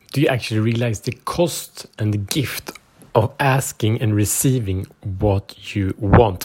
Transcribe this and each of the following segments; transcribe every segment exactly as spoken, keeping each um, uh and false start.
do you actually realize the cost and the gift of asking and receiving what you want?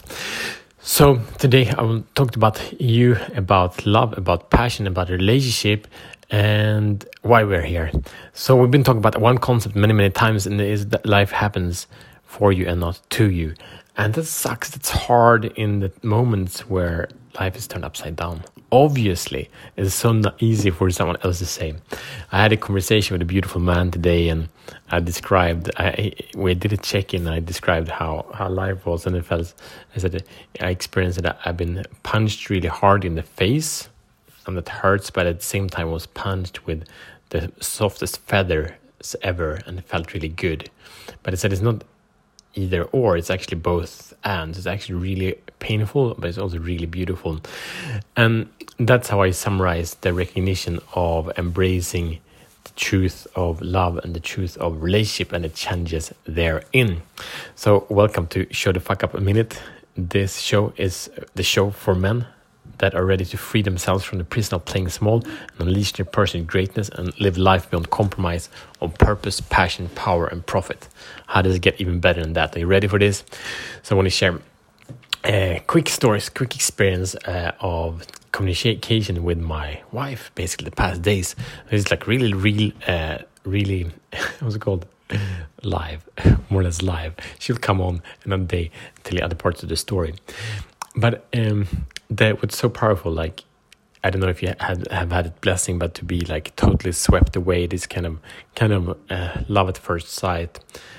So today I will talk about you, about love, about passion, about relationship, and why we're here. So we've been talking about one concept many, many times, and it is that life happens for you and not to you. And that sucks. It's hard in the moments where life is turned upside down. Obviously, it's so not easy for someone else to say. I had a conversation with a beautiful man today, and I described, I, we did a check-in, I described how, how life was, and it felt, I said, I experienced that I've been punched really hard in the face, and that hurts, but at the same time was punched with the softest feathers ever, and it felt really good. But I said it's not either or, it's actually both and. It's actually really painful, but it's also really beautiful. And that's how I summarize the recognition of embracing the truth of love and the truth of relationship and the challenges therein. So welcome to Show the Fuck Up a Minute. This show is the show for men that are ready to free themselves from the prison of playing small and unleash their personal greatness and live life beyond compromise on purpose, passion, power, and profit. How does it get even better than that? Are you ready for this? So I want to share uh, quick stories, quick experience uh, of communication with my wife, basically the past days. It's like really, real, uh, really, what's it called? Live, more or less live. She'll come on another day and tell you other parts of the story. But um, that was so powerful. Like, I don't know if you had have had a blessing, but to be like totally swept away, this kind of kind of uh, love at first sight.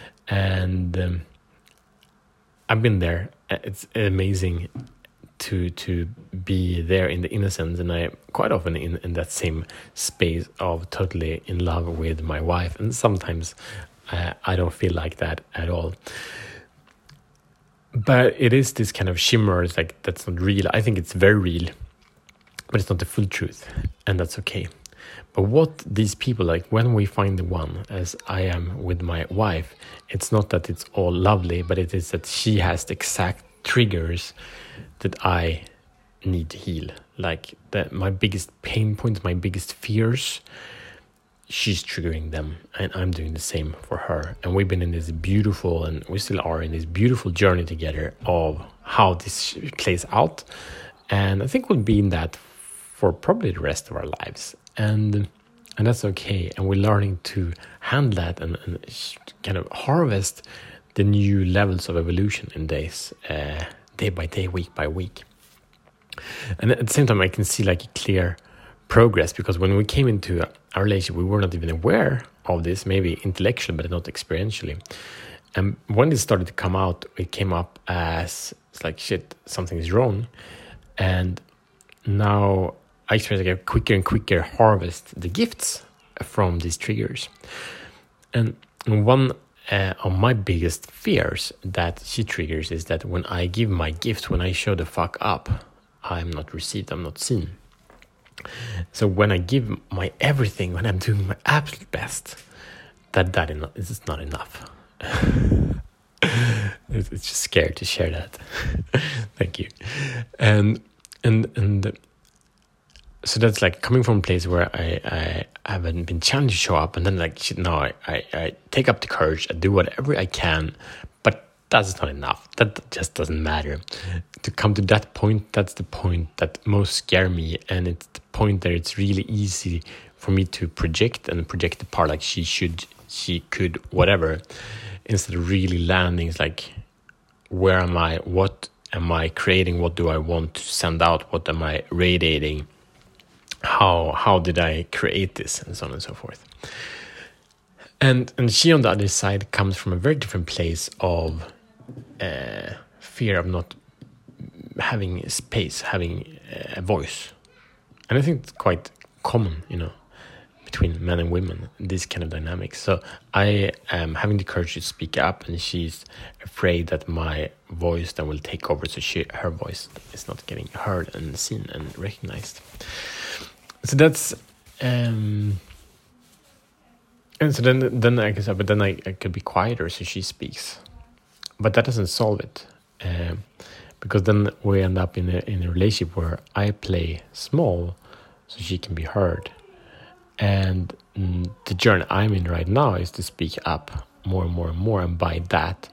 And um, I've been there. It's amazing to to be there in the innocence, and I quite often in in that same space of totally in love with my wife. And sometimes uh, I don't feel like that at all. But it is this kind of shimmer, it's like that's not real. I think it's very real, but it's not the full truth, and that's okay. But what these people, like when we find the one, as I am with my wife, it's not that it's all lovely, but it is that she has the exact triggers that I need to heal. Like that, my biggest pain points, my biggest fears, she's triggering them, and I'm doing the same for her. And we've been in this beautiful, and we still are in this beautiful journey together of how this plays out. And I think we'll be in that for probably the rest of our lives. And and that's okay. And we're learning to handle that and, and kind of harvest the new levels of evolution in days, uh, day by day, week by week. And at the same time, I can see like a clear progress, because when we came into our relationship, we were not even aware of this, maybe intellectually, but not experientially. And when it started to come out, it came up as, it's like, shit, something is wrong. And now I experience like a quicker and quicker harvest the gifts from these triggers. And one uh, of my biggest fears that she triggers is that when I give my gift, when I show the fuck up, I'm not received, I'm not seen. So when I give my everything, when I'm doing my absolute best, that that is not enough. It's just scared to share that. Thank you. And and and so that's like coming from a place where I, I haven't been challenged to show up, and then like shit, no, I, I, I take up the courage, I do whatever I can, but that's not enough. That just doesn't matter. To come to that point, that's the point that most scare me, and it's the point that it's really easy for me to project and project the part like she should, she could, whatever, instead of really landing. It's like, where am I? What am I creating? What do I want to send out? What am I radiating? How how did I create this, and so on and so forth. And and she on the other side comes from a very different place of uh, fear of not having space, having a voice. And I think it's quite common, you know, between men and women, this kind of dynamics. So I am having the courage to speak up, and she's afraid that my voice then will take over, so she, her voice is not getting heard and seen and recognized. So that's um and so then then I guess but then I, I could be quieter so she speaks, but that doesn't solve it, um, because then we end up in a in a relationship where I play small so she can be heard, And mm, the journey I'm in right now is to speak up more and more and more, and by that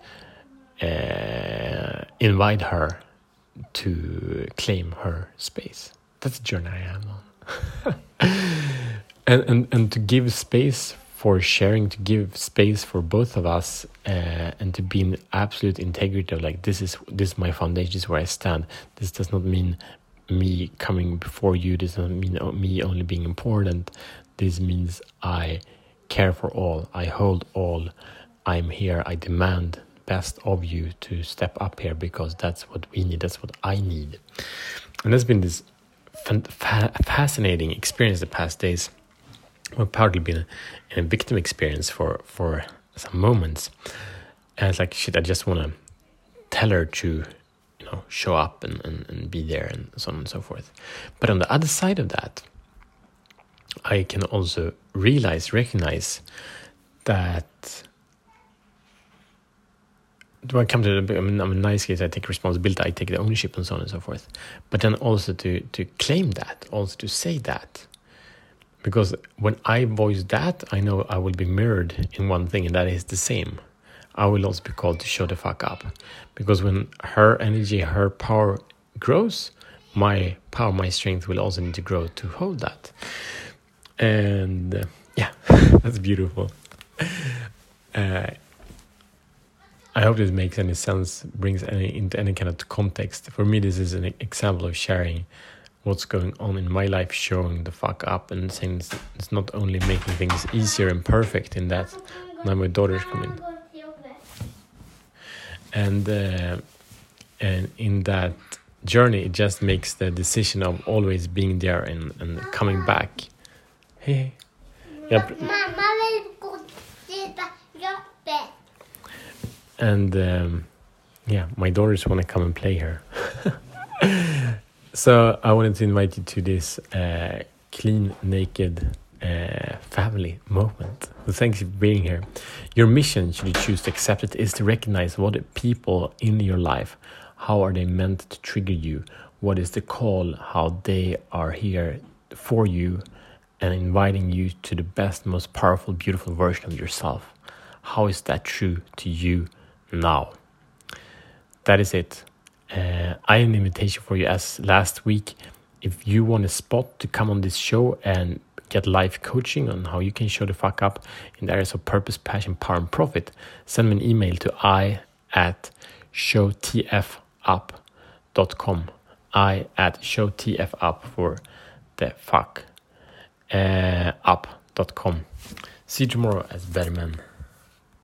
uh, invite her to claim her space. That's the journey I am on. and, and and to give space for sharing, to give space for both of us, uh, and to be in absolute integrity of like, this is this is my foundation, this is where I stand. This does not mean me coming before you, this doesn't mean me only being important. This means I care for all, I hold all, I'm here, I demand best of you to step up here, because that's what we need, that's what I need. And there's been this fa- fascinating experience the past days. I've partly been in a victim experience for, for some moments. And it's like, shit, I just want to tell her to, you know, show up and, and, and be there and so on and so forth. But on the other side of that, I can also realize, recognize that when I come to the, I mean, I'm a nice case, I take responsibility, I take the ownership and so on and so forth. But then also to, to claim that, also to say that. Because when I voice that, I know I will be mirrored in one thing, and that is the same. I will also be called to show the fuck up. Because when her energy, her power grows, my power, my strength will also need to grow to hold that. And uh, yeah, that's beautiful. Uh, I hope this makes any sense, brings any into any kind of context. For me, this is an example of sharing what's going on in my life, showing the fuck up, and saying it's, it's not only making things easier and perfect in that. Now my daughter's coming. And uh, and in that journey, it just makes the decision of always being there and, and coming back. Hey. Yeah. And um, yeah, my daughters want to come and play here. So I wanted to invite you to this uh, clean, naked uh, family moment. So thanks for being here. Your mission, should you choose to accept it, is to recognize what people in your life, how are they meant to trigger you? What is the call? How they are here for you and inviting you to the best, most powerful, beautiful version of yourself. How is that true to you now? That is it. Uh, I have an invitation for you as last week. If you want a spot to come on this show and get live coaching on how you can show the fuck up in the areas of purpose, passion, power, and profit, send me an email to I at showtfup dot com. I at showtfup for the fuck uh, up dot com. See you tomorrow as better men.